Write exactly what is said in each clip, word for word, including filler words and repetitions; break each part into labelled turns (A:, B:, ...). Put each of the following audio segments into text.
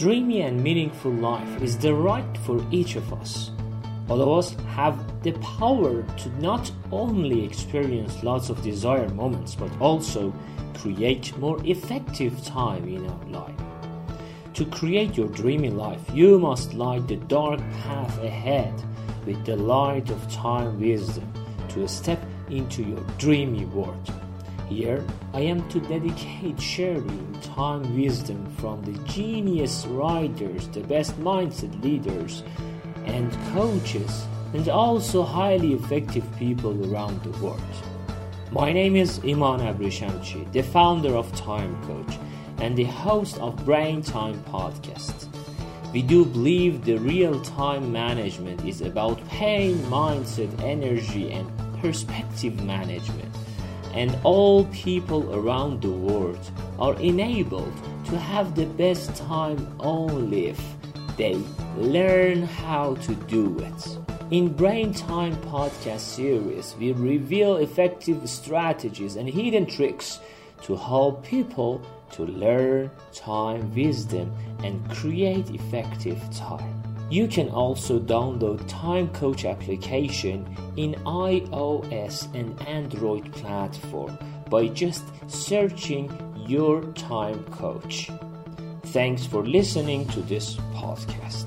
A: dreamy and meaningful life is the right for each of us. All of us have the power to not only experience lots of desired moments, but also create more effective time in our life. To create your dreamy life, you must light the dark path ahead with the light of time wisdom to step into your dreamy world. Here, I am to dedicate sharing time wisdom from the genius writers, the best mindset leaders, and coaches, and also highly effective people around the world. My name is Iman Abrishamchi, the founder of Time Coach and the host of Brain Time Podcast. We do believe the real time management is about pain, mindset, energy, and perspective management. And all people around the world are enabled to have the best time only if they learn how to do it. In Brain Time Podcast series, we reveal effective strategies and hidden tricks to help people to learn time wisdom and create effective time. You can also download Time Coach application in iOS and Android platform by just searching your Time Coach. Thanks for listening to this podcast.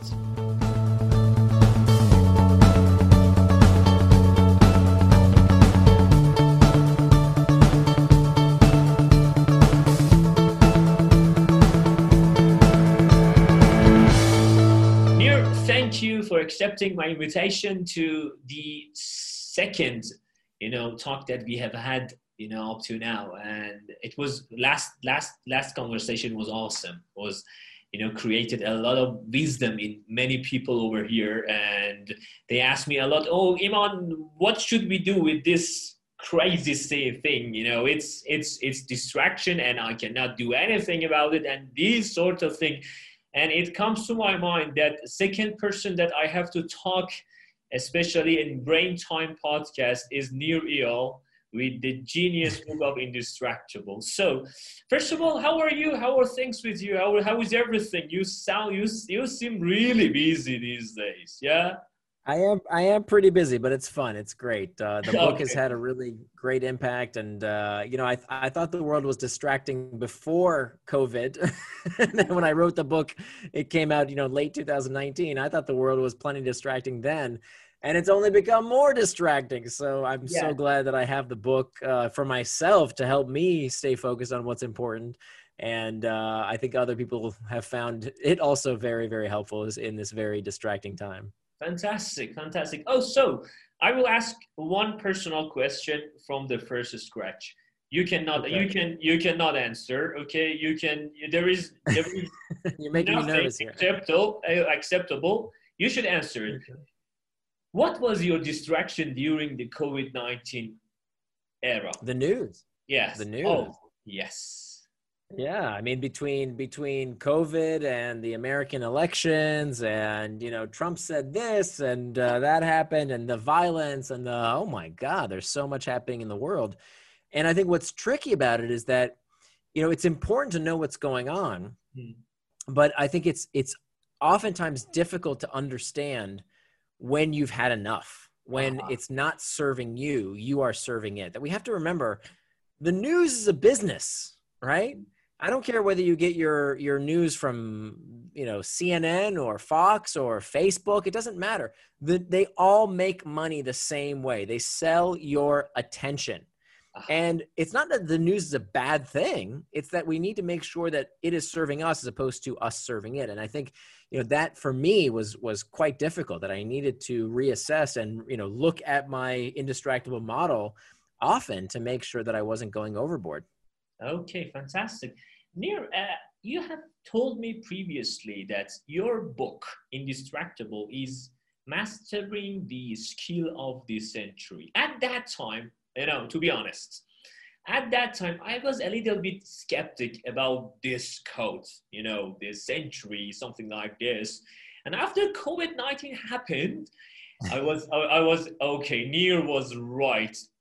A: Thank you for accepting my invitation to the second, you know, talk that we have had, you know, up to now. And it was last, last, last conversation was awesome. It was, you know, created a lot of wisdom in many people over here. And they asked me a lot, oh, Iman, what should we do with this crazy thing? You know, it's, it's, it's distraction and I cannot do anything about it. And these sort of things. And it comes to my mind that second person that I have to talk, especially in Brain Time Podcast, is Nir Eyal with the genius book of Indistractable. So, first of all, how are you? How are things with you? How, how is everything? You sound, you, you seem really busy these days, yeah?
B: I am I am pretty busy, but it's fun. It's great. Uh, the book
A: Okay.
B: has had a really great impact, and uh, you know, I I thought the world was distracting before COVID, and then when I wrote the book, it came out you know late two thousand nineteen. I thought the world was plenty distracting then, and it's only become more distracting. So I'm
A: Yeah.
B: so glad that I have the book uh, for myself to help me stay focused on what's important. And uh, I think other people have found it also very, very helpful in this very distracting time.
A: Fantastic, fantastic. Oh, so I will ask one personal question from the first scratch. You cannot,
B: Okay.
A: you can, you cannot answer. Okay, you can. There is, there is
B: You're making me
A: nothing
B: nervous here.
A: acceptable. Uh, acceptable. You should answer it.
B: Okay.
A: What was your distraction during the COVID nineteen era?
B: The news.
A: Yes.
B: The news.
A: Oh, yes.
B: Yeah, I mean between between COVID and the American elections, and you know Trump said this and uh, that happened, and the violence and the oh my God, there's so much happening in the world. And I think what's tricky about it is that you know it's important to know what's going on,
A: Hmm.
B: but I think it's it's oftentimes difficult to understand when you've had enough, when
A: Uh-huh.
B: it's not serving you, you are serving it. That we have to remember, the news is a business, right? I don't care whether you get your your news from you know C N N or Fox or Facebook. It doesn't matter. The, they all make money the same way. They sell your attention.
A: Uh-huh.
B: And it's not that the news is a bad thing. It's that we need to make sure that it is serving us as opposed to us serving it. And I think, you know, that for me was, was quite difficult, that I needed to reassess and, you know, look at my indistractable model often to make sure that I wasn't going overboard.
A: Okay, fantastic. Nir, uh, you have told me previously that your book, Indistractable, is mastering the skill of the century. At that time, you know, to be honest, at that time, I was a little bit skeptic about this code, you know, this century, something like this. And after COVID nineteen happened, I was, I, I was, okay, Nir was right.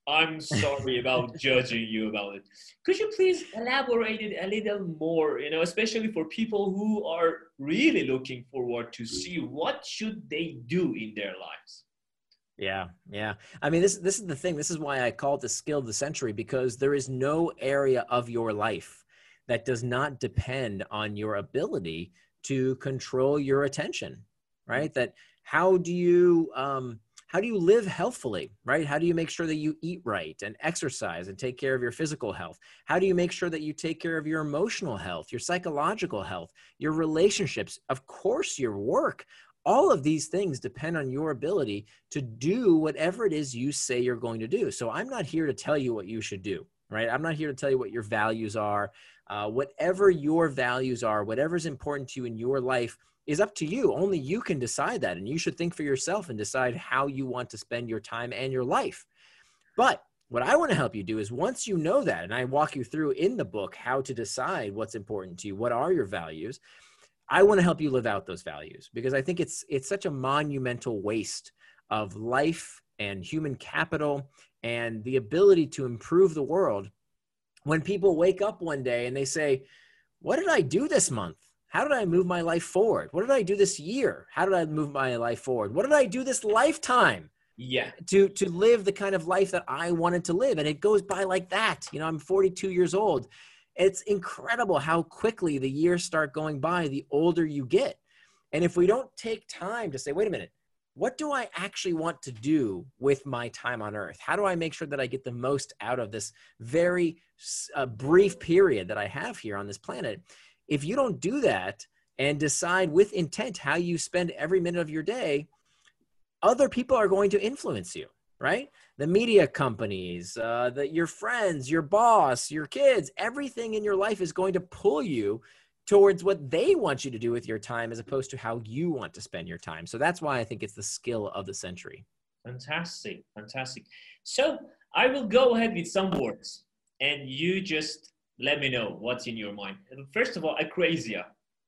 A: I'm sorry about judging you about it. Could you please elaborate it a little more, you know, especially for people who are really looking forward to see what should they do in their lives?
B: Yeah, yeah. I mean, this this is the thing. This is why I call it the skill of the century, because there is no area of your life that does not depend on your ability to control your attention, right? That how do you um, how do you live healthfully, right? How do you make sure that you eat right and exercise and take care of your physical health? How do you make sure that you take care of your emotional health, your psychological health, your relationships, of course, your work? All of these things depend on your ability to do whatever it is you say you're going to do. So I'm not here to tell you what you should do, right? I'm not here to tell you what your values are. Uh, whatever your values are, whatever's important to you in your life is up to you. Only you can decide that. And you should think for yourself and decide how you want to spend your time and your life. But what I want to help you do is once you know that, and I walk you through in the book how to decide what's important to you, what are your values, I want to help you live out those values, because I think it's it's such a monumental waste of life and human capital and the ability to improve the world when people wake up one day and they say, what did I do this month? How did I move my life forward? What did I do this year? How did I move my life forward? What did I do this lifetime?
A: Yeah.
B: To, to live the kind of life that I wanted to live. And it goes by like that. You know, I'm forty-two years old. It's incredible how quickly the years start going by the older you get. And if we don't take time to say, wait a minute, what do I actually want to do with my time on earth? How do I make sure that I get the most out of this very uh, brief period that I have here on this planet? If you don't do that and decide with intent how you spend every minute of your day, other people are going to influence you. Right? The media companies, uh, the, your friends, your boss, your kids, everything in your life is going to pull you towards what they want you to do with your time as opposed to how you want to spend your time. So that's why I think it's the skill of the century.
A: Fantastic. Fantastic. So I will go ahead with some words and you just let me know what's in your mind. First of all, akrasia.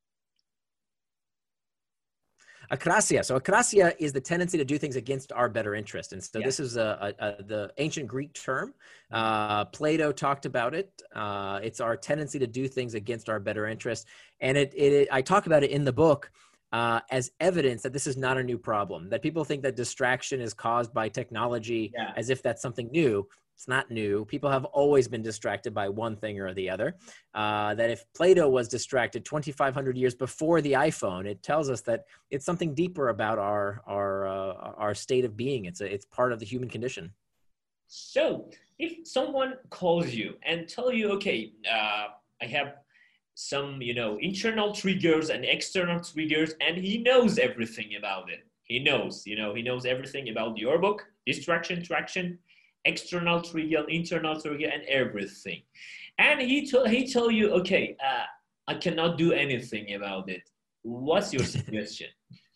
B: Akrasia. So akrasia is the tendency to do things against our better interest. And so yeah. This is a, a, a, the ancient Greek term. Uh, Plato talked about it. Uh, it's our tendency to do things against our better interest. And it, it, it I talk about it in the book uh, as evidence that this is not a new problem, that people think that distraction is caused by technology yeah. as if that's something new. It's not new. People have always been distracted by one thing or the other. Uh, that if Plato was distracted twenty-five hundred years before the iPhone, it tells us that it's something deeper about our our uh, our state of being. It's a, it's part of the human condition.
A: So, if someone calls you and tell you, okay, uh, I have some, you know, internal triggers and external triggers, and he knows everything about it. He knows, you know, he knows everything about your book, distraction, traction, external trigger, internal trigger, and everything. And he told he told you, okay, uh, I cannot do anything about it. What's your suggestion?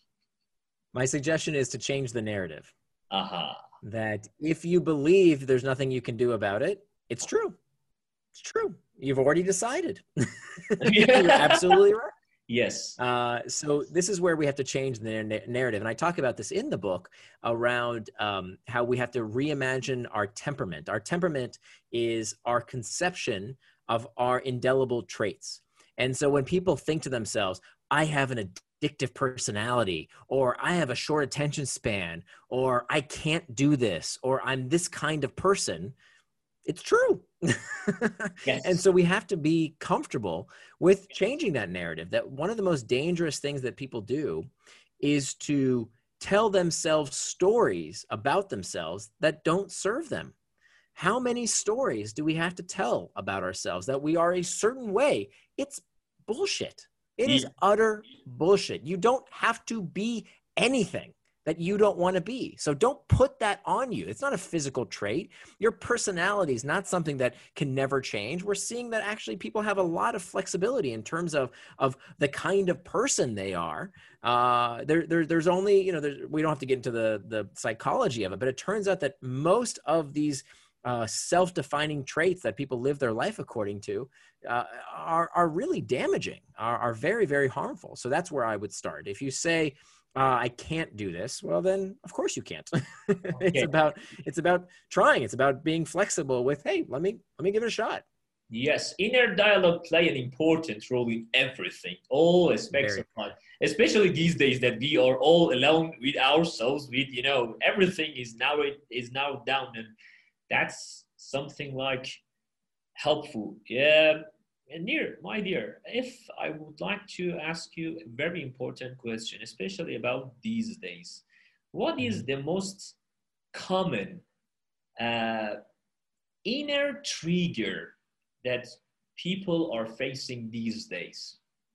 B: My suggestion is to change the narrative.
A: Uh-huh.
B: That if you believe there's nothing you can do about it, it's true. It's true. You've already decided. You're absolutely right.
A: Yes.
B: Uh, so this is where we have to change the na- narrative. And I talk about this in the book around um, how we have to reimagine our temperament. Our temperament is our conception of our indelible traits. And so when people think to themselves, I have an addictive personality, or I have a short attention span, or I can't do this, or I'm this kind of person, it's true. Yes. And so we have to be comfortable with changing that narrative. That one of the most dangerous things that people do is to tell themselves stories about themselves that don't serve them. How many stories do we have to tell about ourselves that we are a certain way? It's bullshit. It is utter bullshit. You don't have to be anything that you don't want to be. So don't put that on you. It's not a physical trait. Your personality is not something that can never change. We're seeing that actually people have a lot of flexibility in terms of, of the kind of person they are. Uh, there, there, there's only, you know, there's, we don't have to get into the, the psychology of it, but it turns out that most of these uh, self-defining traits that people live their life according to uh, are, are really damaging, are, are very, very harmful. So that's where I would start. If you say, uh, I can't do this. Well, then of course you can't. It's
A: Okay.
B: about, it's about trying. It's about being flexible with, hey, let me, let me give it a shot.
A: Yes, inner dialogue play an important role in everything, all aspects
B: Very.
A: of life, especially these days that we are all alone with ourselves, with, you know, everything is now is now down, and that's something like helpful. Yeah, and dear, my dear, if I would like to ask you a very important question, especially about these days, what is
B: Mhm.
A: the most common uh, inner trigger that people are facing these days?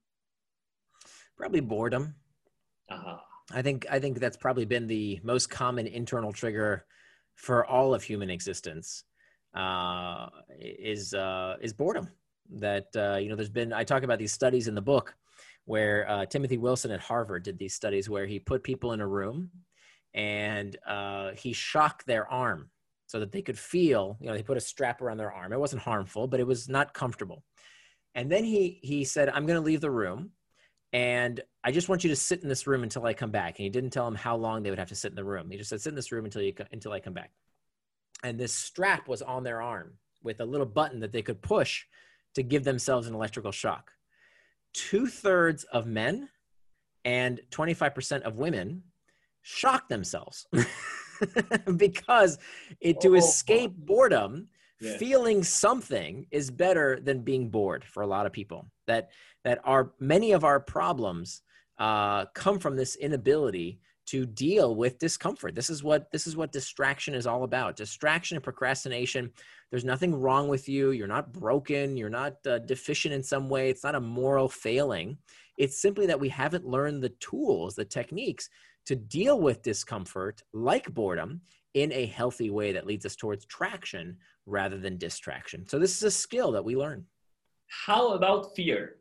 B: Probably boredom.
A: Uh-huh.
B: I think I think that's probably been the most common internal trigger for all of human existence. Uh, is uh, is boredom. That uh, you know, there's been, I talk about these studies in the book where uh, Timothy Wilson at Harvard did these studies where he put people in a room and uh, he shocked their arm so that they could feel. You know, he put a strap around their arm. It wasn't harmful, but it was not comfortable. And then he he said, "I'm going to leave the room. And I just want you to sit in this room until I come back." And he didn't tell them how long they would have to sit in the room. He just said, "Sit in this room until you until I come back." And this strap was on their arm with a little button that they could push to give themselves an electrical shock. Two thirds of men and twenty-five percent of women shock themselves because it, to
A: Oh,
B: escape boredom,
A: yeah.
B: feeling something is better than being bored for a lot of people. That that are many of our problems uh, come from this inability to deal with discomfort. This is what this is what distraction is all about. Distraction and procrastination. There's nothing wrong with you. You're not broken. You're not uh, deficient in some way. It's not a moral failing. It's simply that we haven't learned the tools, the techniques to deal with discomfort like boredom in a healthy way that leads us towards traction rather than distraction. So this is a skill that we learn.
A: How about fear?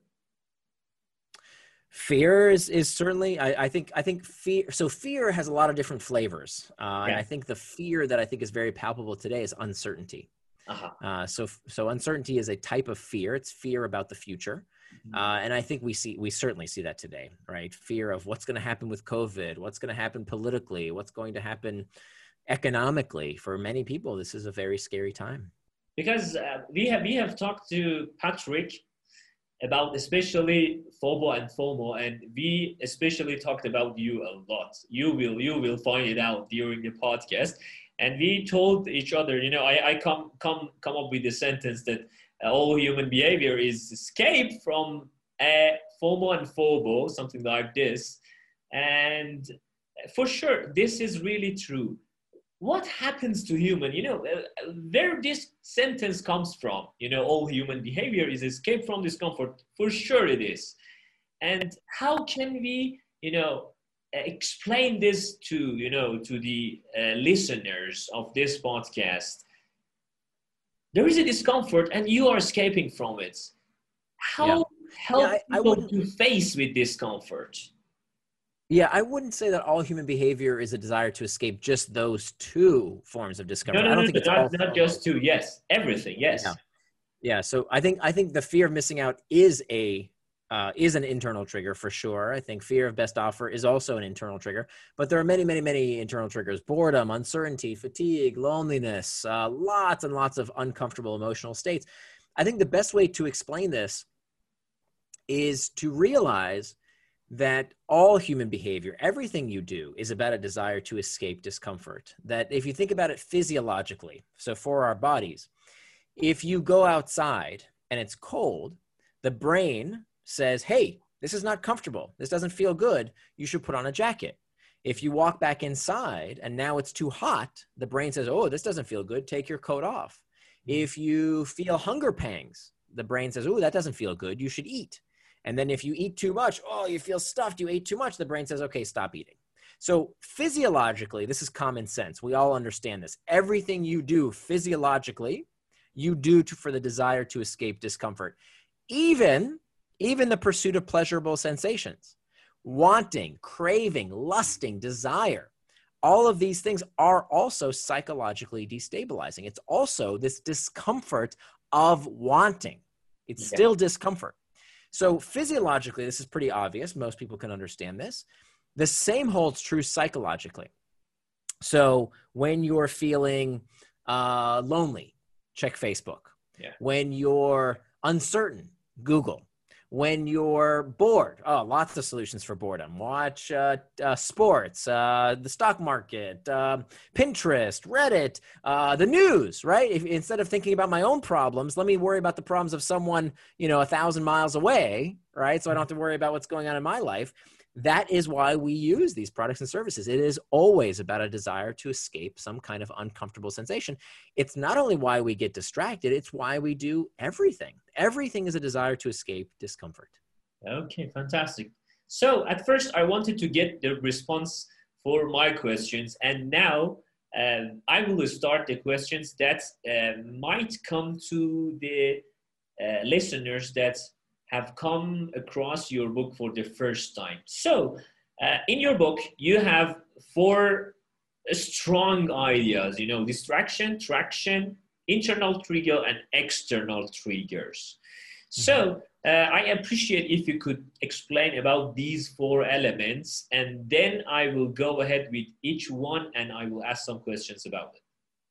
B: Fear is, is certainly, I, I think, I think fear, so fear has a lot of different flavors. Uh, and
A: Yeah.
B: I think the fear that I think is very palpable today is uncertainty.
A: Uh-huh.
B: Uh, so, so uncertainty is a type of fear. It's fear about the future.
A: Mhm.
B: Uh, and I think we see, we certainly see that today, right? Fear of what's going to happen with COVID, what's going to happen politically, what's going to happen economically. For many people, this is a very scary time.
A: Because uh, we have we have talked to Patrick about especially FOBO and FOMO, and we especially talked about you a lot. You will you will find it out during the podcast. And we told each other, you know, I, I come come come up with the sentence that uh, all human behavior is escape from a FOMO and FOBO, something like this. And for sure, this is really true. What happens to human, you know, uh, where this sentence comes from, you know, all human behavior is escape from discomfort. For sure it is. And how can we, you know, explain this to, you know, to the uh, listeners of this podcast? There is a discomfort and you are escaping from it. How
B: Yeah. Yeah,
A: help
B: I, I
A: people
B: wouldn't.
A: to face with discomfort?
B: Yeah, I wouldn't say that all human behavior is a desire to escape just those two forms of
A: No,
B: discomfort.
A: no,
B: I
A: no,
B: don't
A: no,
B: think it's all.
A: not, not just two. Yes, everything. Yes.
B: Yeah, yeah. So I think I think the fear of missing out is a uh, is an internal trigger for sure. I think fear of best offer is also an internal trigger, but there are many, many, many internal triggers: boredom, uncertainty, fatigue, loneliness, uh, lots and lots of uncomfortable emotional states. I think the best way to explain this is to realize that all human behavior, everything you do, is about a desire to escape discomfort. That if you think about it physiologically, so for our bodies, if you go outside and it's cold, the brain says, hey, this is not comfortable. This doesn't feel good. You should put on a jacket. If you walk back inside and now it's too hot, the brain says, oh, this doesn't feel good. Take your coat off. If you feel hunger pangs, the brain says, oh, that doesn't feel good. You should eat. And then if you eat too much, oh, you feel stuffed, you ate too much, the brain says, okay, stop eating. So physiologically, this is common sense. We all understand this. Everything you do physiologically, you do to, for the desire to escape discomfort. Even, even the pursuit of pleasurable sensations, wanting, craving, lusting, desire. All of these things are also psychologically destabilizing. It's also this discomfort of wanting. It's
A: Okay.
B: still discomfort. So physiologically, this is pretty obvious. Most people can understand this. The same holds true psychologically. So when you're feeling uh, lonely, check Facebook.
A: Yeah.
B: When you're uncertain, Google. When you're bored, oh, lots of solutions for boredom. Watch uh, uh, sports, uh, the stock market, uh, Pinterest, Reddit, uh, the news, right? If, instead of thinking about my own problems, let me worry about the problems of someone, you know, a thousand miles away, right? So I don't have to worry about what's going on in my life. That is why we use these products and services. It is always about a desire to escape some kind of uncomfortable sensation. It's not only why we get distracted, it's why we do everything. Everything is a desire to escape discomfort.
A: Okay, fantastic. So at first I wanted to get the response for my questions, and now um, I will start the questions that uh, might come to the uh, listeners that have come across your book for the first time. So uh, in your book, you have four strong ideas, you know, distraction, traction, internal trigger, and external triggers. So uh, I appreciate if you could explain about these four elements, and then I will go ahead with each one and I will ask some questions about it.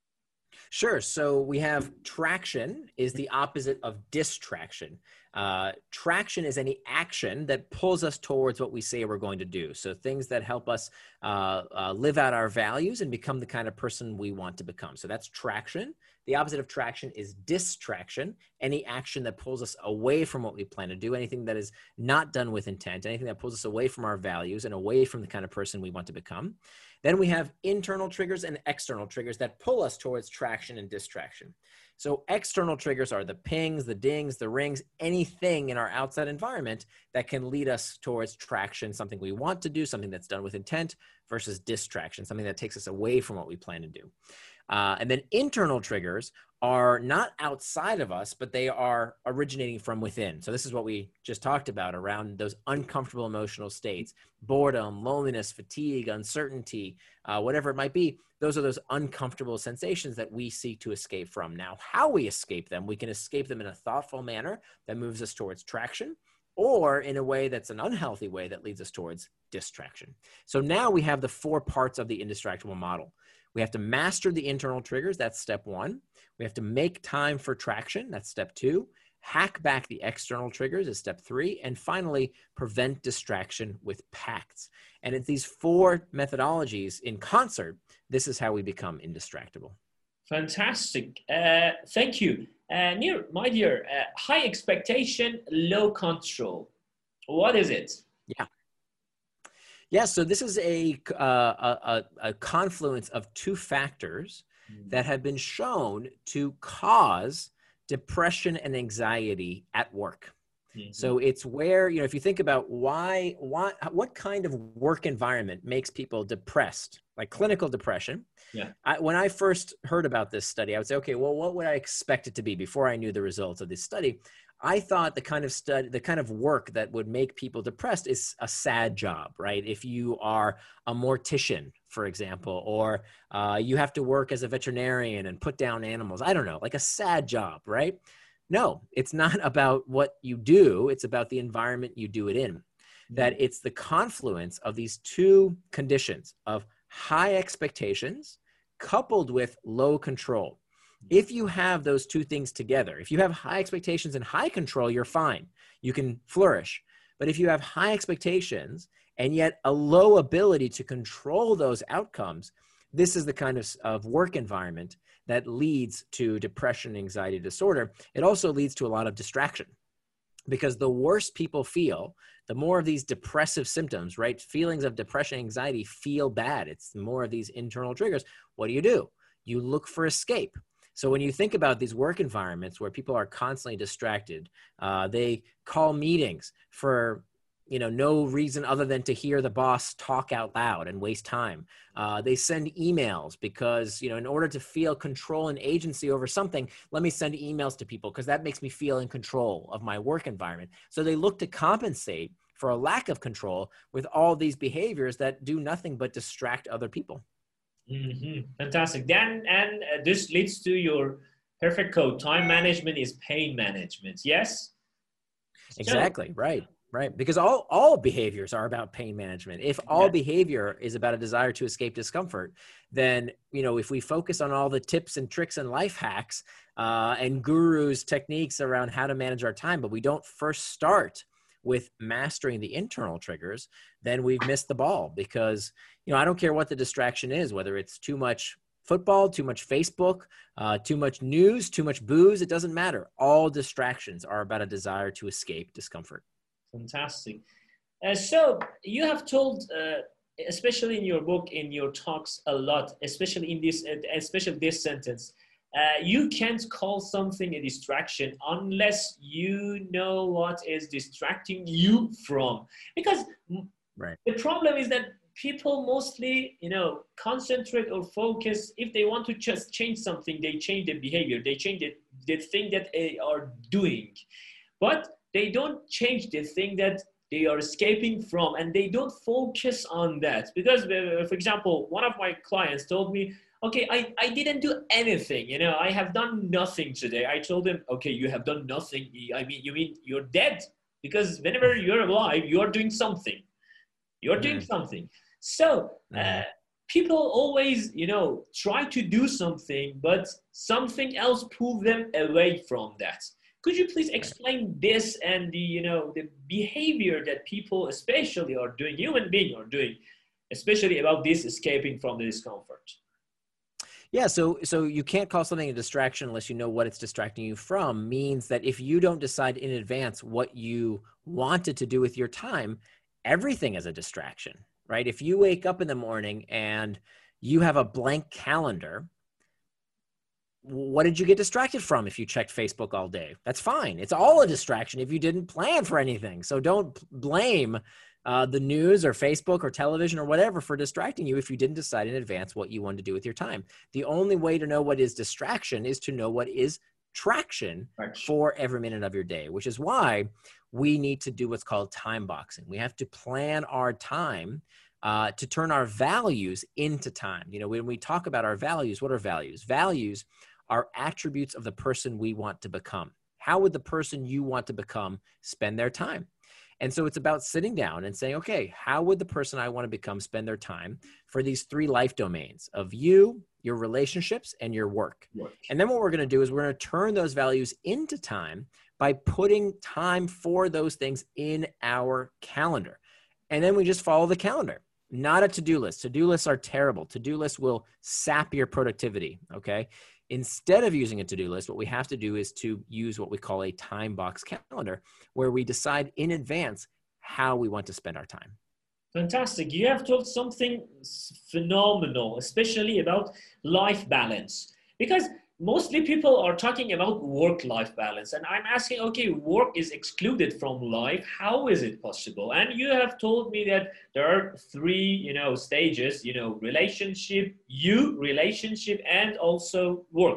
B: Sure. So we have traction is the opposite of distraction. Uh, traction is any action that pulls us towards what we say we're going to do. So things that help us uh, uh, live out our values and become the kind of person we want to become. So that's traction. The opposite of traction is distraction, any action that pulls us away from what we plan to do, anything that is not done with intent, anything that pulls us away from our values and away from the kind of person we want to become. Then we have internal triggers and external triggers that pull us towards traction and distraction. So external triggers are the pings, the dings, the rings, anything in our outside environment that can lead us towards traction, something we want to do, something that's done with intent, versus distraction, something that takes us away from what we plan to do. Uh, and then internal triggers are not outside of us, but they are originating from within. So this is what we just talked about around those uncomfortable emotional states: boredom, loneliness, fatigue, uncertainty, uh, whatever it might be. Those are those uncomfortable sensations that we seek to escape from. Now, how we escape them, we can escape them in a thoughtful manner that moves us towards traction, or in a way that's an unhealthy way that leads us towards distraction. So now we have the four parts of the indistractable model. We have to master the internal triggers. That's step one. We have to make time for traction. That's step two. Hack back the external triggers is step three. And finally, prevent distraction with pacts. And it's these four methodologies in concert. This is how we become indistractable.
A: Fantastic. Uh, thank you. Uh, Nir, my dear, uh, high expectation, low control. What is it?
B: Yeah. Yeah, so this is a, uh, a, a confluence of two factors mm-hmm. that have been shown to cause depression and anxiety at work. Mm-hmm. So it's where, you know, if you think about why, why, what kind of work environment makes people depressed, like clinical depression.
A: Yeah.
B: I, when I first heard about this study, I would say, okay, well, what would I expect it to be before I knew the results of this study? I thought the kind of study, the kind of work that would make people depressed is a sad job, right? If you are a mortician, for example, or uh, you have to work as a veterinarian and put down animals, I don't know, like a sad job, right? No, it's not about what you do. It's about the environment you do it in. Mm-hmm. That it's the confluence of these two conditions of high expectations coupled with low control. If you have those two things together, if you have high expectations and high control, you're fine. You can flourish. But if you have high expectations and yet a low ability to control those outcomes, this is the kind of, of work environment that leads to depression and anxiety disorder. It also leads to a lot of distraction, because the worse people feel, the more of these depressive symptoms, right? Feelings of depression, anxiety feel bad. It's more of these internal triggers. What do you do? You look for escape. So when you think about these work environments where people are constantly distracted, uh, they call meetings for, you know, no reason other than to hear the boss talk out loud and waste time. Uh, they send emails because, you know, in order to feel control and agency over something, let me send emails to people because that makes me feel in control of my work environment. So they look to compensate for a lack of control with all these behaviors that do nothing but distract other people.
A: Mm-hmm. Fantastic. Then, and uh, this leads to your perfect code. Time management is pain management. Yes?
B: Exactly. So, right. Right. Because all, all behaviors are about pain management. If all
A: Yeah.
B: behavior is about a desire to escape discomfort, then, you know, if we focus on all the tips and tricks and life hacks uh, and gurus techniques around how to manage our time, but we don't first start with mastering the internal triggers, then we've missed the ball. Because, you know, I don't care what the distraction is, whether it's too much football, too much Facebook, uh, too much news, too much booze, it doesn't matter. All distractions are about a desire to escape discomfort.
A: Fantastic. Uh, so you have told, uh, especially in your book, in your talks, a lot, especially in this, uh, especially this sentence. Uh, you can't call something a distraction unless you know what is distracting you from. Because
B: right.
A: The problem is that people mostly, you know, concentrate or focus. If they want to just change something, they change the behavior, they change the, the thing that they are doing. But they don't change the thing that they are escaping from, and they don't focus on that. Because, uh, for example, one of my clients told me, okay, I, I didn't do anything, you know, I have done nothing today. I told him, okay, you have done nothing. I mean, you mean you're dead? Because whenever you're alive, you're doing something. You're doing mm. something. So uh, mm. people always, you know, try to do something, but something else pulls them away from that. Could you please explain this and the, you know, the behavior that people especially are doing, human beings are doing, especially about this escaping from the discomfort?
B: Yeah, so so you can't call something a distraction unless you know what it's distracting you from. Means that if you don't decide in advance what you wanted to do with your time, everything is a distraction, right? If you wake up in the morning and you have a blank calendar, what did you get distracted from if you checked Facebook all day? That's fine. It's all a distraction if you didn't plan for anything. So don't blame uh, the news or Facebook or television or whatever for distracting you if you didn't decide in advance what you wanted to do with your time. The only way to know what is distraction is to know what is traction for every minute of your day, which is why we need to do what's called time boxing. We have to plan our time uh, to turn our values into time. You know, when we talk about our values, what are values? Values are attributes of the person we want to become. How would the person you want to become spend their time? And so it's about sitting down and saying, okay, how would the person I want to become spend their time for these three life domains of you, your relationships, and your work? work. And then what we're going to do is we're going to turn those values into time by putting time for those things in our calendar. And then we just follow the calendar, not a to-do list. To-do lists are terrible. To-do lists will sap your productivity, okay? Instead of using a to-do list, what we have to do is to use what we call a time box calendar, where we decide in advance how we want to spend our time.
A: Fantastic. You have told something phenomenal, especially about life balance, because mostly people are talking about work-life balance. And I'm asking, okay, work is excluded from life. How is it possible? And you have told me that there are three, you know, stages, you know, relationship, you, relationship, and also work.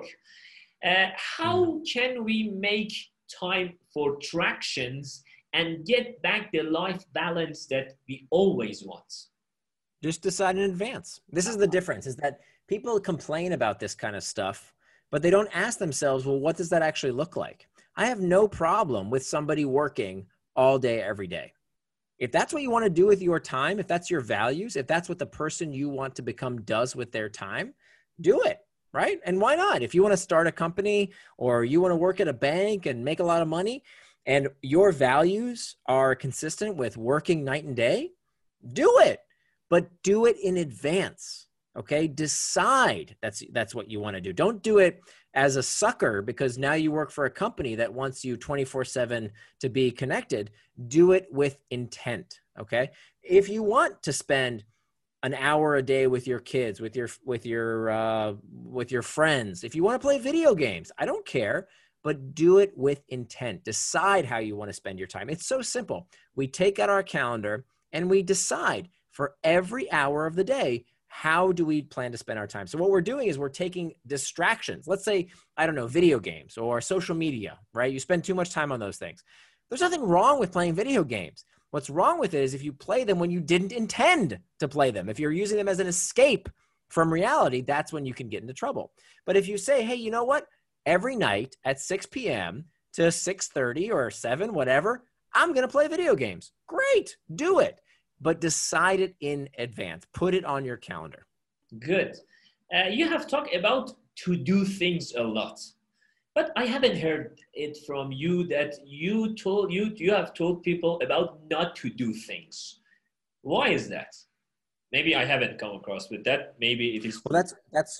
A: Uh, how can we make time for tractions and get back the life balance that we always want?
B: Just decide in advance. This is the difference, is that people complain about this kind of stuff, but they don't ask themselves, well, what does that actually look like? I have no problem with somebody working all day, every day. If that's what you want to do with your time, if that's your values, if that's what the person you want to become does with their time, do it, right? And why not? If you want to start a company or you want to work at a bank and make a lot of money and your values are consistent with working night and day, do it, but do it in advance. Okay, decide that's that's what you want to do. Don't do it as a sucker because now you work for a company that wants you twenty-four seven to be connected. Do it with intent. Okay, if you want to spend an hour a day with your kids, with your with your uh, with your friends, if you want to play video games, I don't care, but do it with intent. Decide how you want to spend your time. It's so simple. We take out our calendar and we decide for every hour of the day, how do we plan to spend our time? So what we're doing is we're taking distractions. Let's say, I don't know, video games or social media, right? You spend too much time on those things. There's nothing wrong with playing video games. What's wrong with it is if you play them when you didn't intend to play them. If you're using them as an escape from reality, that's when you can get into trouble. But if you say, hey, you know what? Every night at six p.m. to six thirty or seven, whatever, I'm going to play video games. Great. Do it. But decide it in advance. Put it on your calendar.
A: Good. Uh, you have talked about to do things a lot, but I haven't heard it from you that you told you you have told people about not to do things. Why is that? Maybe I haven't come across with that. Maybe it is.
B: Well, that's that's.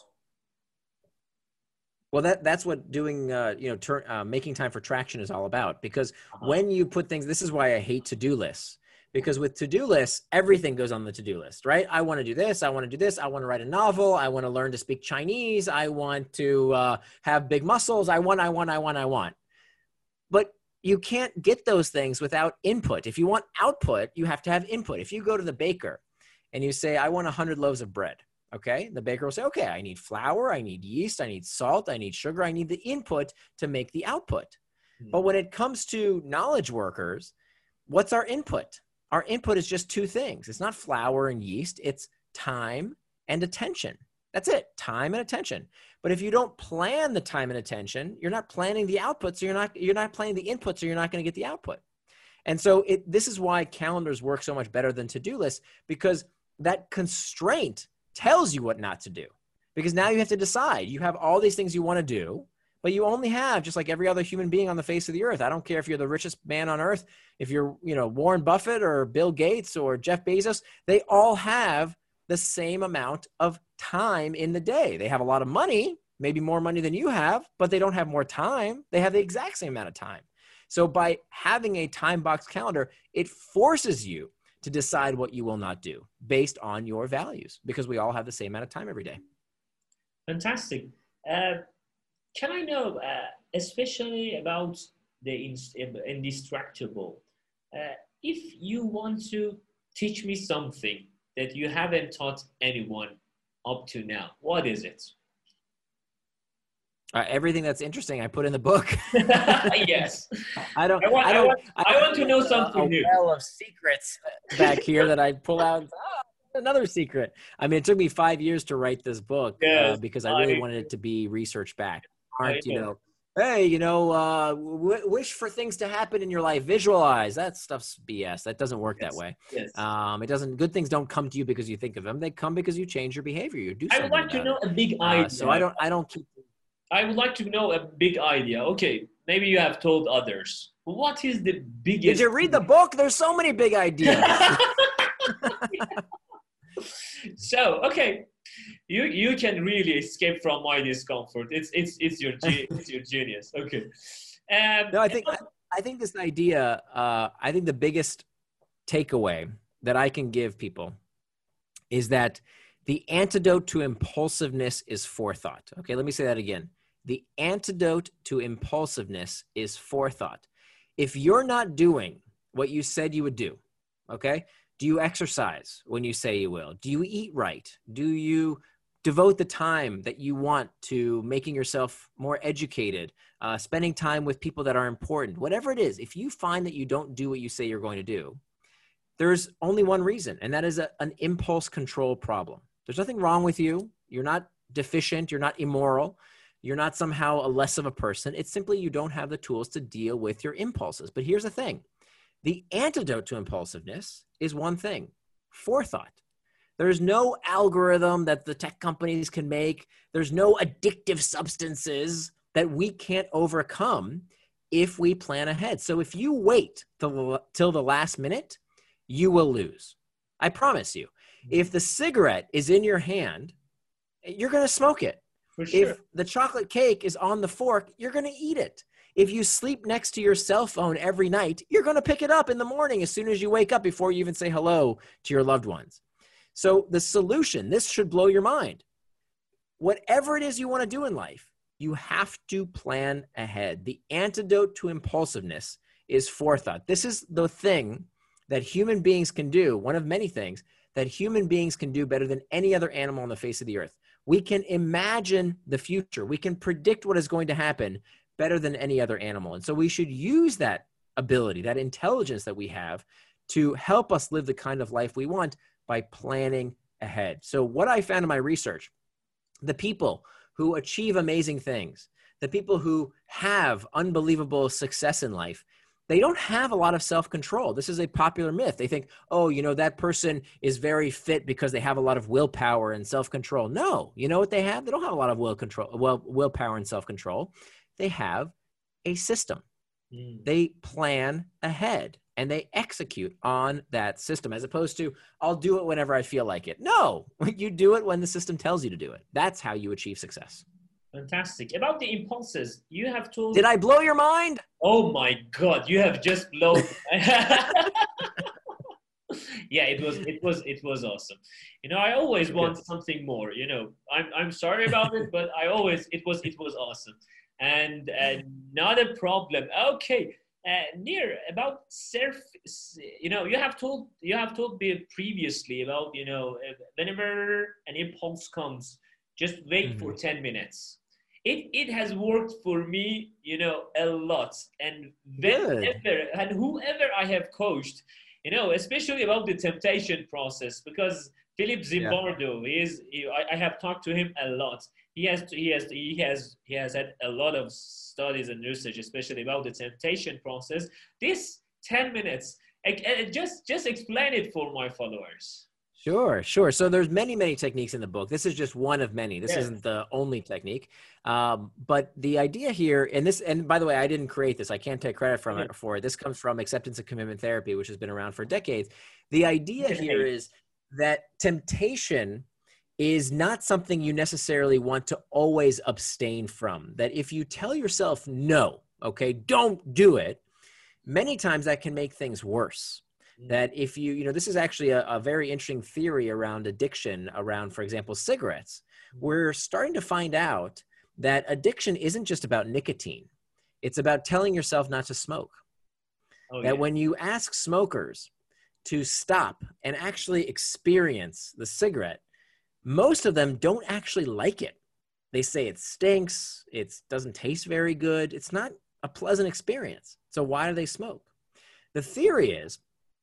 B: Well, that that's what doing, uh, you know, tur- uh, making time for traction is all about. Because
A: Uh-huh.
B: when you put things, this is why I hate to-do lists. Because with to-do lists, everything goes on the to-do list, right? I want to do this. I want to do this. I want to write a novel. I want to learn to speak Chinese. I want to uh, have big muscles. I want, I want, I want, I want. But you can't get those things without input. If you want output, you have to have input. If you go to the baker and you say, I want one hundred loaves of bread, okay? The baker will say, okay, I need flour, I need yeast, I need salt, I need sugar, I need the input to make the output. Mm-hmm. But when it comes to knowledge workers, what's our input? Our input is just two things. It's not flour and yeast, it's time and attention. That's it, time and attention. But if you don't plan the time and attention, you're not planning the output, so you're not, you're not planning the input, so you're not going to get the output. And so it, this is why calendars work so much better than to-do lists, because that constraint tells you what not to do. Because now you have to decide. You have all these things you want to do, but you only have, just like every other human being on the face of the earth. I don't care if you're the richest man on earth, if you're, you know, Warren Buffett or Bill Gates or Jeff Bezos, they all have the same amount of time in the day. They have a lot of money, maybe more money than you have, but they don't have more time. They have the exact same amount of time. So by having a time box calendar, it forces you to decide what you will not do based on your values, because we all have the same amount of time every day.
A: Fantastic. Uh, can I know, uh, especially about the indistractable, uh, if you want to teach me something that you haven't taught anyone up to now, what is it?
B: Uh, everything that's interesting, I put in the book.
A: Yes.
B: I don't.
A: I want.
B: I,
A: I,
B: don't,
A: want,
B: I,
A: I want to know something
B: a, a
A: new.
B: well of secrets back here that I pull out. Oh, another secret. I mean, it took me five years to write this book
A: Yes,
B: uh, because I really
A: I,
B: wanted it to be research backed. Aren't
A: I
B: you
A: know.
B: know? Hey, you know, uh, w- wish for things to happen in your life. Visualize. That stuff's B S. That doesn't work
A: Yes.
B: that way.
A: Yes.
B: Um, it doesn't. Good things don't come to you because you think of them. They come because you change your behavior. You do
A: I
B: something
A: would like to
B: about
A: know
B: it.
A: a big idea.
B: Uh, so I don't. I don't keep.
A: I would like to know a big idea. Okay, maybe you have told others. What is the biggest?
B: Did you read the book? There's so many big ideas.
A: So, okay, you you can really escape from my discomfort. It's it's it's your ge- it's your genius. Okay. Um,
B: No, I think I, I think this idea. Uh, I think the biggest takeaway that I can give people is that the antidote to impulsiveness is forethought. Okay, let me say that again. The antidote to impulsiveness is forethought. If you're not doing what you said you would do, okay, do you exercise when you say you will? Do you eat right? Do you devote the time that you want to making yourself more educated, uh, spending time with people that are important? Whatever it is, if you find that you don't do what you say you're going to do, there's only one reason, and that is a, an impulse control problem. There's nothing wrong with you. You're not deficient. You're not immoral. You're not somehow a less of a person. It's simply you don't have the tools to deal with your impulses. But here's the thing. The antidote to impulsiveness is one thing: forethought. There's no algorithm that the tech companies can make. There's no addictive substances that we can't overcome if we plan ahead. So if you wait till, till the last minute, you will lose. I promise you. If the cigarette is in your hand, you're going to smoke it.
A: For sure.
B: If the chocolate cake is on the fork, you're going to eat it. If you sleep next to your cell phone every night, you're going to pick it up in the morning as soon as you wake up before you even say hello to your loved ones. So the solution, this should blow your mind. Whatever it is you want to do in life, you have to plan ahead. The antidote to impulsiveness is forethought. This is the thing that human beings can do, one of many things that human beings can do better than any other animal on the face of the earth. We can imagine the future. We can predict what is going to happen better than any other animal. And so we should use that ability, that intelligence that we have to help us live the kind of life we want by planning ahead. So what I found in my research, the people who achieve amazing things, the people who have unbelievable success in life, they don't have a lot of self-control. This is a popular myth. They think, oh, you know, that person is very fit because they have a lot of willpower and self-control. No, you know what they have? They don't have a lot of will control, well, willpower and self-control. They have a system. Mm. They plan ahead and they execute on that system, as opposed to, I'll do it whenever I feel like it. No, you do it when the system tells you to do it. That's how you achieve success.
A: Fantastic. About the impulses, you have told...
B: Did I blow your mind?
A: Oh my God, you have just blown... Yeah, it was, it was, it was awesome. You know, I always want something more, you know, I'm, I'm sorry about it, but I always, it was, it was awesome. And uh, not a problem. Okay. Uh, Nir, about surf, you know, you have told, you have told me previously about, you know, whenever an impulse comes, just wait mm-hmm. for ten minutes. It it has worked for me, you know, a lot. And whenever and whoever I have coached, you know, especially about the temptation process, because Philip Zimbardo yeah. is, he, I, I have talked to him a lot. He has, he has, he has, he has had a lot of studies and research, especially about the temptation process. This ten minutes, just just explain it for my followers.
B: Sure, sure. So there's many, many techniques in the book. This is just one of many. This yes. isn't the only technique. Um, but the idea here, and this, and by the way, I didn't create this. I can't take credit from it for it. This comes from acceptance and commitment therapy, which has been around for decades. The idea here is that temptation is not something you necessarily want to always abstain from. That if you tell yourself no, okay, don't do it, many times that can make things worse. That if you, you know, this is actually a, a very interesting theory around addiction, around, for example, cigarettes. We're starting to find out that addiction isn't just about nicotine. It's about telling yourself not to smoke. Oh, that yeah. when you ask smokers to stop and actually experience the cigarette, most of them don't actually like it. They say it stinks. It doesn't taste very good. It's not a pleasant experience. So why do they smoke? The theory is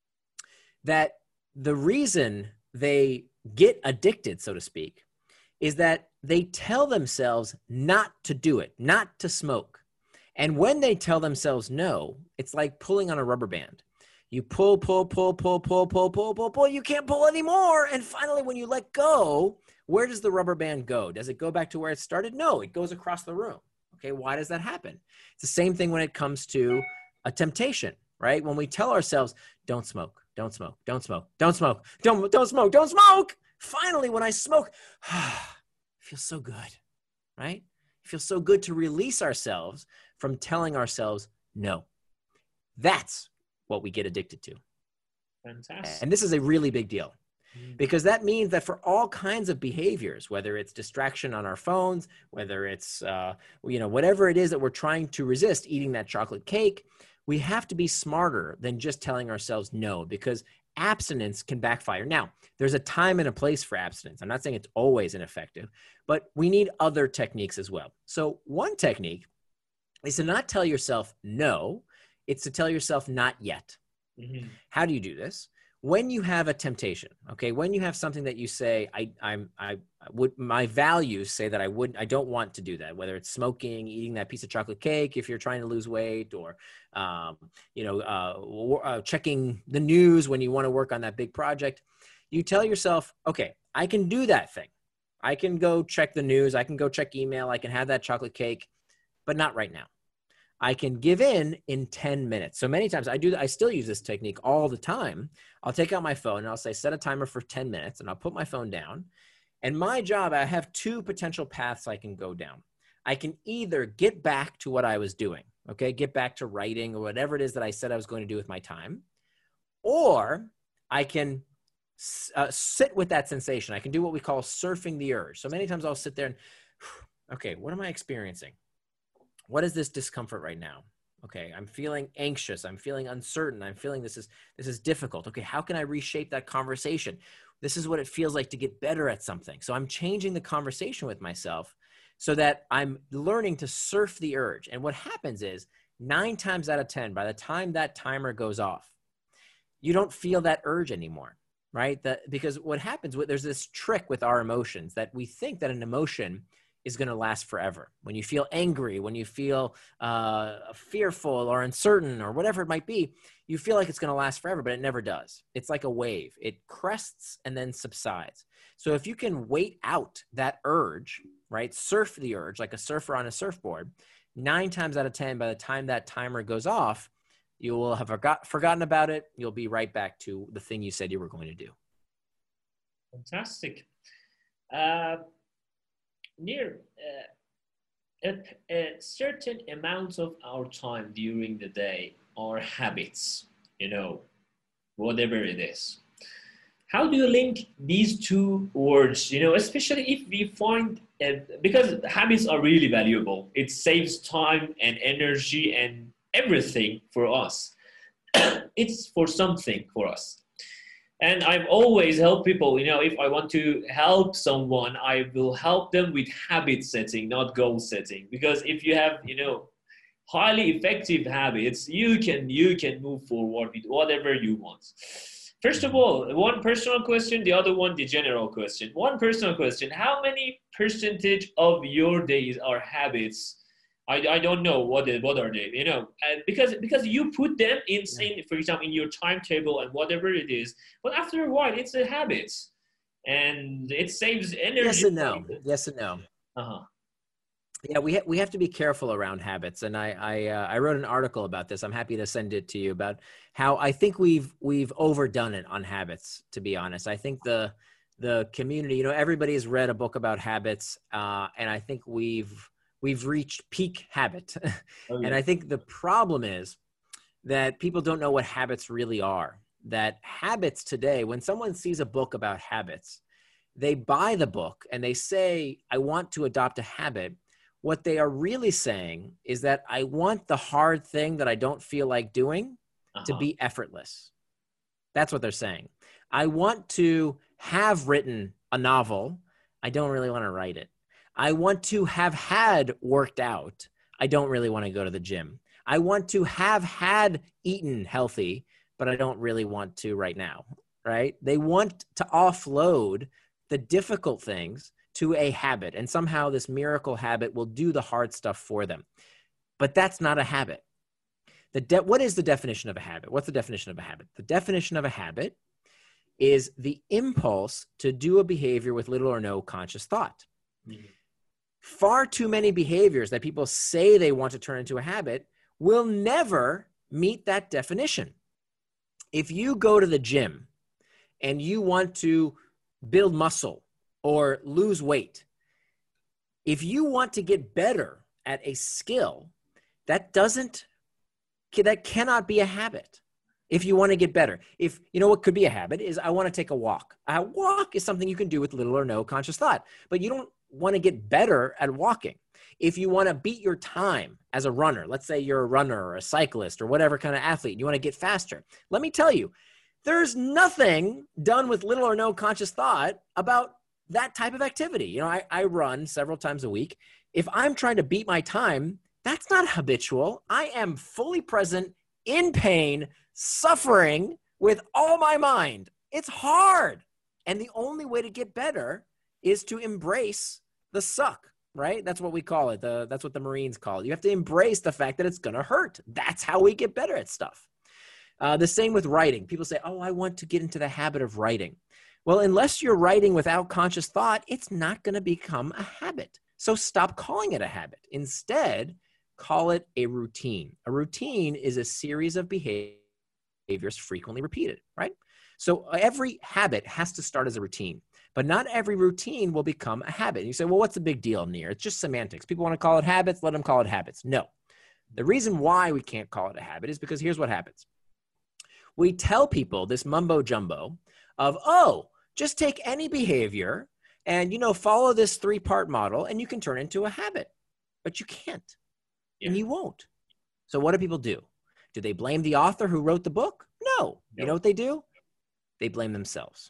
B: that the reason they get addicted, so to speak, is that they tell themselves not to do it, not to smoke. And when they tell themselves no, it's like pulling on a rubber band. You pull, pull, pull, pull, pull, pull, pull, pull, pull. You can't pull anymore. And finally, when you let go, where does the rubber band go? Does it go back to where it started? No, it goes across the room. Okay, why does that happen? It's the same thing when it comes to a temptation, right? When we tell ourselves, don't smoke. Don't smoke, don't smoke, don't smoke, don't, don't smoke, don't smoke. Finally, when I smoke, it feels so good, right? It feels so good to release ourselves from telling ourselves no. That's what we get addicted to.
A: Fantastic.
B: And this is a really big deal because that means that for all kinds of behaviors, whether it's distraction on our phones, whether it's, uh, you know, whatever it is that we're trying to resist, eating that chocolate cake, we have to be smarter than just telling ourselves no, because abstinence can backfire. Now, there's a time and a place for abstinence. I'm not saying it's always ineffective, but we need other techniques as well. So one technique is to not tell yourself no, it's to tell yourself not yet. Mm-hmm. How do you do this? When you have a temptation, okay, when you have something that you say, I, I'm, I would, my values say that I wouldn't, I don't want to do that, whether it's smoking, eating that piece of chocolate cake, if you're trying to lose weight, or, um, you know, uh, uh, checking the news when you want to work on that big project, you tell yourself, okay, I can do that thing. I can go check the news. I can go check email. I can have that chocolate cake, but not right now. I can give in in ten minutes. So many times I do, I still use this technique all the time. I'll take out my phone and I'll say, set a timer for ten minutes, and I'll put my phone down. And my job, I have two potential paths I can go down. I can either get back to what I was doing, okay, get back to writing or whatever it is that I said I was going to do with my time, or I can uh, sit with that sensation. I can do what we call surfing the urge. So many times I'll sit there and, okay, what am I experiencing? What is this discomfort right now? Okay, I'm feeling anxious. I'm feeling uncertain. I'm feeling this is this is difficult. Okay, how can I reshape that conversation? This is what it feels like to get better at something. So I'm changing the conversation with myself so that I'm learning to surf the urge. And what happens is nine times out of ten, by the time that timer goes off, you don't feel that urge anymore, right? That because what happens, there's this trick with our emotions that we think that an emotion is going to last forever. When you feel angry, when you feel uh, fearful or uncertain or whatever it might be, you feel like it's going to last forever, but it never does. It's like a wave. It crests and then subsides. So if you can wait out that urge, right, surf the urge like a surfer on a surfboard, nine times out of ten, by the time that timer goes off, you will have forgot, forgotten about it. You'll be right back to the thing you said you were going to do.
A: Fantastic. Uh, Nir, uh, a, a certain amount of our time during the day are habits, you know, whatever it is. How do you link these two words, you know, especially if we find, uh, because habits are really valuable. It saves time and energy and everything for us. It's for something for us. And I've always helped people, you know, if I want to help someone, I will help them with habit setting, not goal setting. Because if you have, you know, highly effective habits, you can you can move forward with whatever you want. First of all, one personal question, the other one, the general question. One personal question, how many percentage of your days are habits? I, I don't know what they, what are they, you know, and because because you put them in, in, for example, in your timetable and whatever it is, but after a while, it's a habit, and it saves energy.
B: Yes and no. Yes and no.
A: Uh-huh.
B: Yeah, we ha- we have to be careful around habits, and I I, uh, I wrote an article about this. I'm happy to send it to you about how I think we've we've overdone it on habits. To be honest, I think the the community, you know, everybody has read a book about habits, uh, and I think we've we've reached peak habit. Oh, yeah. And I think the problem is that people don't know what habits really are. That habits today, when someone sees a book about habits, they buy the book and they say, I want to adopt a habit. What they are really saying is that I want the hard thing that I don't feel like doing uh-huh. to be effortless. That's what they're saying. I want to have written a novel. I don't really want to write it. I want to have had worked out. I don't really want to go to the gym. I want to have had eaten healthy, but I don't really want to right now, right? They want to offload the difficult things to a habit, and somehow this miracle habit will do the hard stuff for them. But that's not a habit. The de- what is the definition of a habit? What's the definition of a habit? The definition of a habit is the impulse to do a behavior with little or no conscious thought. Mm-hmm. Far too many behaviors that people say they want to turn into a habit will never meet that definition. If you go to the gym and you want to build muscle or lose weight, if you want to get better at a skill, that doesn't, that cannot be a habit. If you want to get better, if you know what could be a habit is I want to take a walk. A walk is something you can do with little or no conscious thought, but you don't want to get better at walking. If you want to beat your time as a runner, let's say you're a runner or a cyclist or whatever kind of athlete, you want to get faster. Let me tell you, there's nothing done with little or no conscious thought about that type of activity. You know, I, I run several times a week. If I'm trying to beat my time, that's not habitual. I am fully present, in pain, suffering with all my mind. It's hard. And the only way to get better is to embrace the suck, right? That's what we call it. The, that's what the Marines call it. You have to embrace the fact that it's going to hurt. That's how we get better at stuff. Uh, the same with writing. People say, oh, I want to get into the habit of writing. Well, unless you're writing without conscious thought, it's not going to become a habit. So stop calling it a habit. Instead, call it a routine. A routine is a series of behaviors frequently repeated, right? So every habit has to start as a routine. But not every routine will become a habit. And you say, well, what's the big deal, Nir? It's just semantics. People want to call it habits. Let them call it habits. No. The reason why we can't call it a habit is because here's what happens. We tell people this mumbo jumbo of, oh, just take any behavior and, you know, follow this three-part model and you can turn it into a habit. But you can't. Yeah. And you won't. So what do people do? Do they blame the author who wrote the book? No. No. You know what they do? They blame themselves.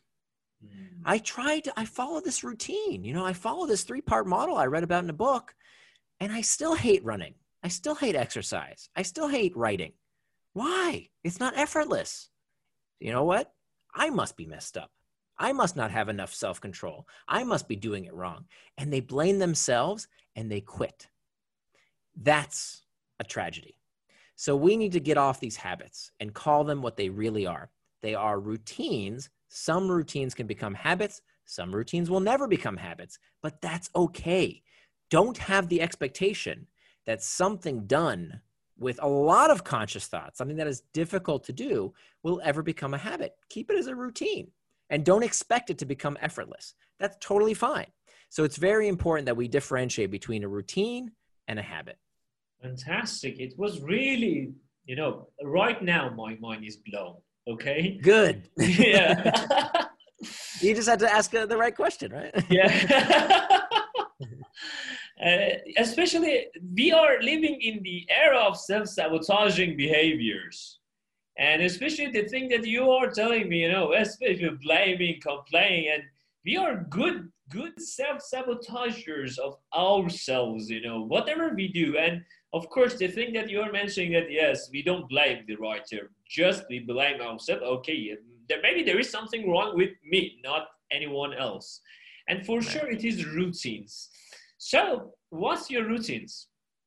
B: I tried to, I follow this routine. You know, I follow this three-part model I read about in a book, and I still hate running. I still hate exercise. I still hate writing. Why? It's not effortless. You know what? I must be messed up. I must not have enough self-control. I must be doing it wrong. And they blame themselves and they quit. That's a tragedy. So we need to get off these habits and call them what they really are. They are routines. Some routines can become habits. Some routines will never become habits, but that's okay. Don't have the expectation that something done with a lot of conscious thought, something that is difficult to do, will ever become a habit. Keep it as a routine and don't expect it to become effortless. That's totally fine. So it's very important that we differentiate between a routine and a habit.
A: Fantastic. It was really, you know, right now my mind is blown. Okay.
B: Good.
A: Yeah.
B: You just had to ask uh, the right question, right?
A: Yeah. Uh, especially, we are living in the era of self-sabotaging behaviors. And especially the thing that you are telling me, you know, especially blaming, complaining, and we are good, good self-sabotagers of ourselves, you know, whatever we do. And of course, the thing that you're mentioning that, yes, we don't blame the writer, just we blame ourselves. Okay, there, maybe there is something wrong with me, not anyone else. And for sure, it is routines. So, what's your routines?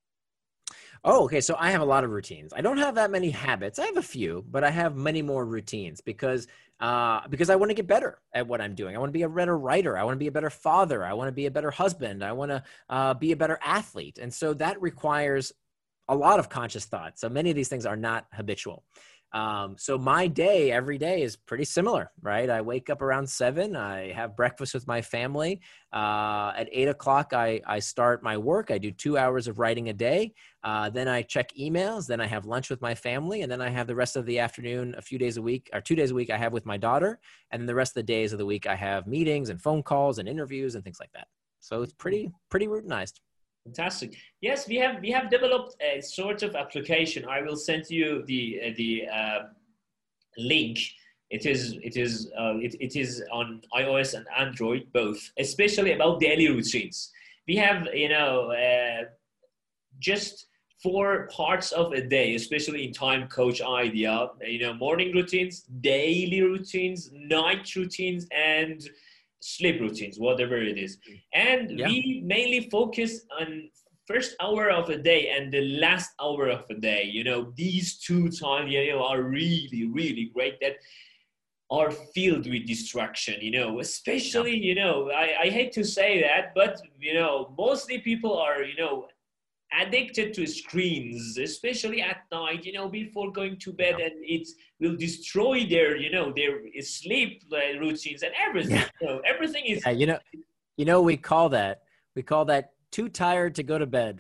B: Oh, okay. So I have a lot of routines. I don't have that many habits. I have a few, but I have many more routines because uh, because I want to get better at what I'm doing. I want to be a better writer. I want to be a better father. I want to be a better husband. I want to uh, be a better athlete. And so that requires a lot of conscious thought. So many of these things are not habitual. Um, so my day every day is pretty similar, right? I wake up around seven. I have breakfast with my family. Uh, at eight o'clock, I, I start my work. I do two hours of writing a day. Uh, then I check emails. Then I have lunch with my family. And then I have the rest of the afternoon, a few days a week, or two days a week I have with my daughter. And then the rest of the days of the week, I have meetings and phone calls and interviews and things like that. So it's pretty, pretty routinized.
A: Fantastic. Yes, we have we have developed a sort of application. I will send you the uh, the uh, link. It is it is uh, it, it is on iOS and Android both, especially about daily routines. We have you know uh, just four parts of a day, especially in Time Coach idea. You know, morning routines, daily routines, night routines, and sleep routines, whatever it is. And
B: Yeah.
A: we mainly focus on first hour of a day and the last hour of a day. You know, these two times, you know, are really, really great that are filled with distraction, you know, especially, you know, I, I hate to say that, but, you know, mostly people are, you know, addicted to screens, especially at night, you know, before going to bed,
B: Yeah.
A: and it will destroy their, you know, their sleep uh, routines and everything.
B: Yeah.
A: You know, everything is.
B: Yeah, you know, you know, we call that, we call that too tired to go to bed,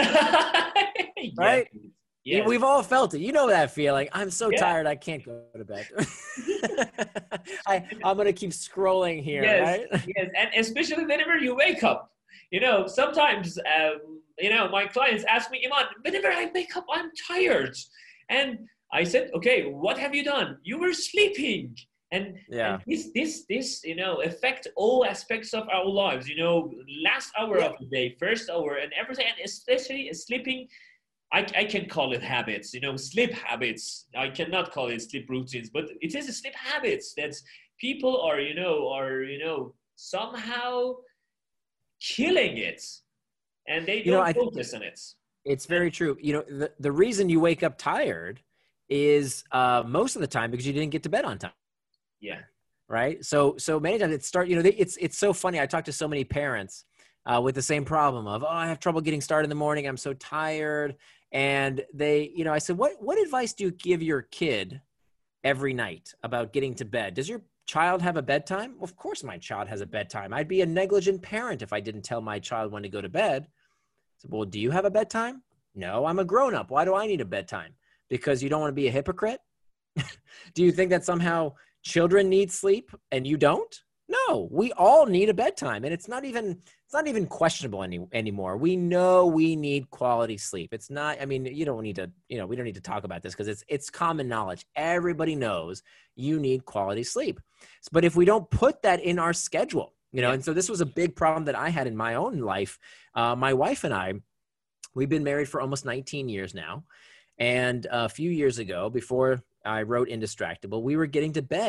B: right?
A: Yes. Yes.
B: We've all felt it. You know that feeling. I'm so
A: Yeah.
B: tired, I can't go to bed. I, I'm going to keep scrolling here,
A: Yes.
B: right?
A: Yes. And especially whenever you wake up, you know, sometimes, um, you know, my clients ask me, Iman, whenever I wake up, I'm tired. And I said, okay, what have you done? You were sleeping. And,
B: Yeah.
A: and this, this, this, you know, affect all aspects of our lives, you know, last hour
B: Yeah.
A: of the day, first hour and everything, and especially sleeping. I, I can call it habits, you know, sleep habits. I cannot call it sleep routines, but it is a sleep habits that people are, you know, are, you know, somehow killing it, and they
B: You know,
A: don't
B: I think
A: focus on it.
B: it's very true. You know, the, the reason you wake up tired is uh, most of the time because you didn't get to bed on time.
A: Yeah.
B: Right. So, so many times it start, you know, they, it's, it's so funny. I talk to so many parents uh, with the same problem of, oh, I have trouble getting started in the morning. I'm so tired. And they, you know, I said, what, what advice do you give your kid every night about getting to bed? Does your child have a bedtime? Well, of course my child has a bedtime. I'd be a negligent parent if I didn't tell my child when to go to bed. So, well, do you have a bedtime? No, I'm a grown-up. Why do I need a bedtime? Because you don't want to be a hypocrite? Do you think that somehow children need sleep and you don't? No, we all need a bedtime, and it's not even it's not even questionable any anymore. We know we need quality sleep. It's not. I mean, you don't need to. You know, we don't need to talk about this because it's it's common knowledge. Everybody knows you need quality sleep. But if we don't put that in our schedule, you know,
A: Yeah.
B: and so this was a big problem that I had in my own life. Uh, my wife and I, we've been married for almost nineteen years now, and a few years ago, before I wrote Indistractable, we were getting to bed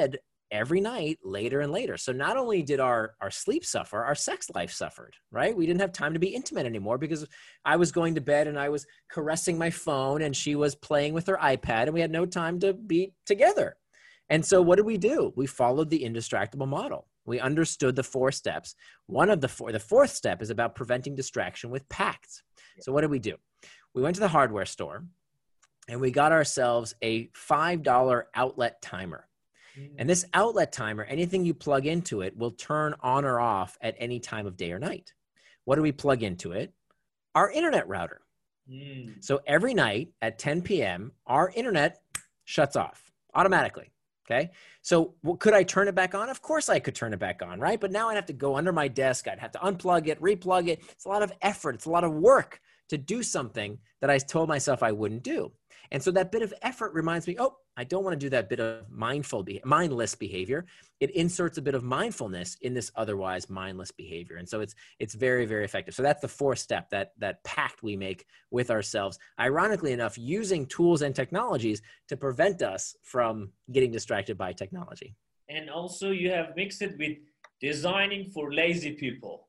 B: every night later and later. So not only did our, our sleep suffer, our sex life suffered, right? We didn't have time to be intimate anymore because I was going to bed and I was caressing my phone and she was playing with her iPad and we had no time to be together. And so what did we do? We followed the indistractable model. We understood the four steps. One of the four, the fourth step is about preventing distraction with PACT. So what did we do? We went to the hardware store and we got ourselves a five dollar outlet timer. And this outlet timer, anything you plug into it will turn on or off at any time of day or night. What do we plug into it? Our internet router. Mm. So every night at ten P M, our internet shuts off automatically. Okay. So well, could I turn it back on? Of course I could turn it back on, right? But now I'd have to go under my desk. I'd have to unplug it, replug it. It's a lot of effort. It's a lot of work to do something that I told myself I wouldn't do. And so that bit of effort reminds me, oh, I don't want to do that bit of mindful, be- mindless behavior. It inserts a bit of mindfulness in this otherwise mindless behavior. And so it's it's very, very effective. So that's the fourth step, that, that pact we make with ourselves, ironically enough, using tools and technologies to prevent us from getting distracted by technology.
A: And also you have mixed it with designing for lazy people.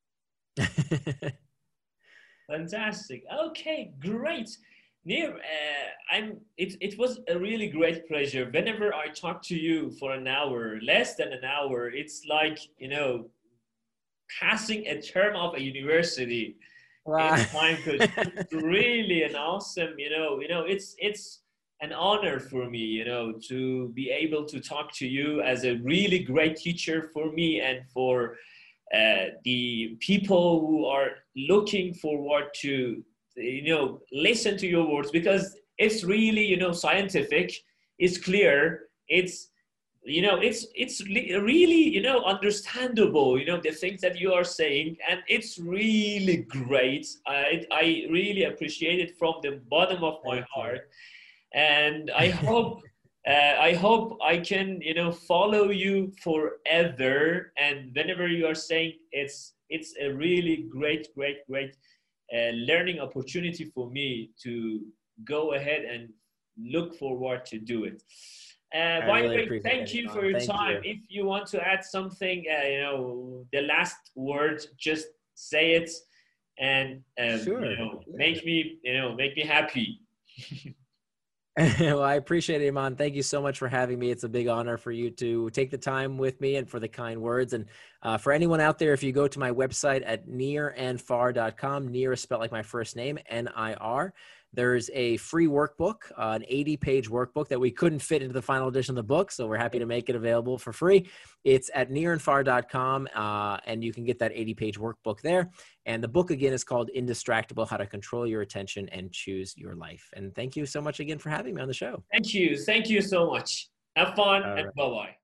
A: Fantastic. Okay, great. Nir, uh, I'm, it, it was a really great pleasure. Whenever I talk to you for an hour, less than an hour, it's like, you know, passing a term of a university. Wow. In time, because it's really an awesome, you know, you know, it's, it's an honor for me, you know, to be able to talk to you as a really great teacher for me and for uh, the people who are looking forward to, you know, listen to your words, because it's really, you know, scientific, it's clear, it's, you know, it's, it's really, you know, understandable, you know, the things that you are saying, and it's really great. I, I really appreciate it from the bottom of my heart. And I hope, uh, I hope I can, you know, follow you forever. And whenever you are saying, it's, it's a really great, great, great Uh, learning opportunity for me to go ahead and look forward to do it. Uh, by the way, thank you for your time. If you want to add something, uh, you know, the last word, just say it, and um, sure. you know, yeah. make me, you know, make me happy.
B: Well, I appreciate it, Iman. Thank you so much for having me. It's a big honor for you to take the time with me and for the kind words. And uh, for anyone out there, if you go to my website at nir and far dot com, Nir is spelled like my first name, N I R. There's a free workbook, uh, an eighty page workbook that we couldn't fit into the final edition of the book. So we're happy to make it available for free. It's at nir and far dot com, uh, and you can get that eighty page workbook there. And the book, again, is called Indistractable: How to Control Your Attention and Choose Your Life. And thank you so much again for having me on the show.
A: Thank you. Thank you so much. Have fun. All and right. Bye-bye.